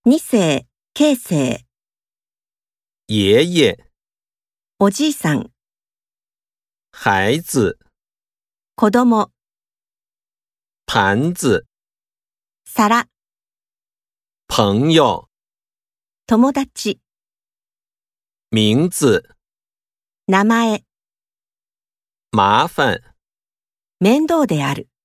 二世、慶生、 爷爷、 おじいさん、 孩子、 子供、 盘子、 皿、 朋友、 友達、 名字、 名前、 麻烦。 面倒である。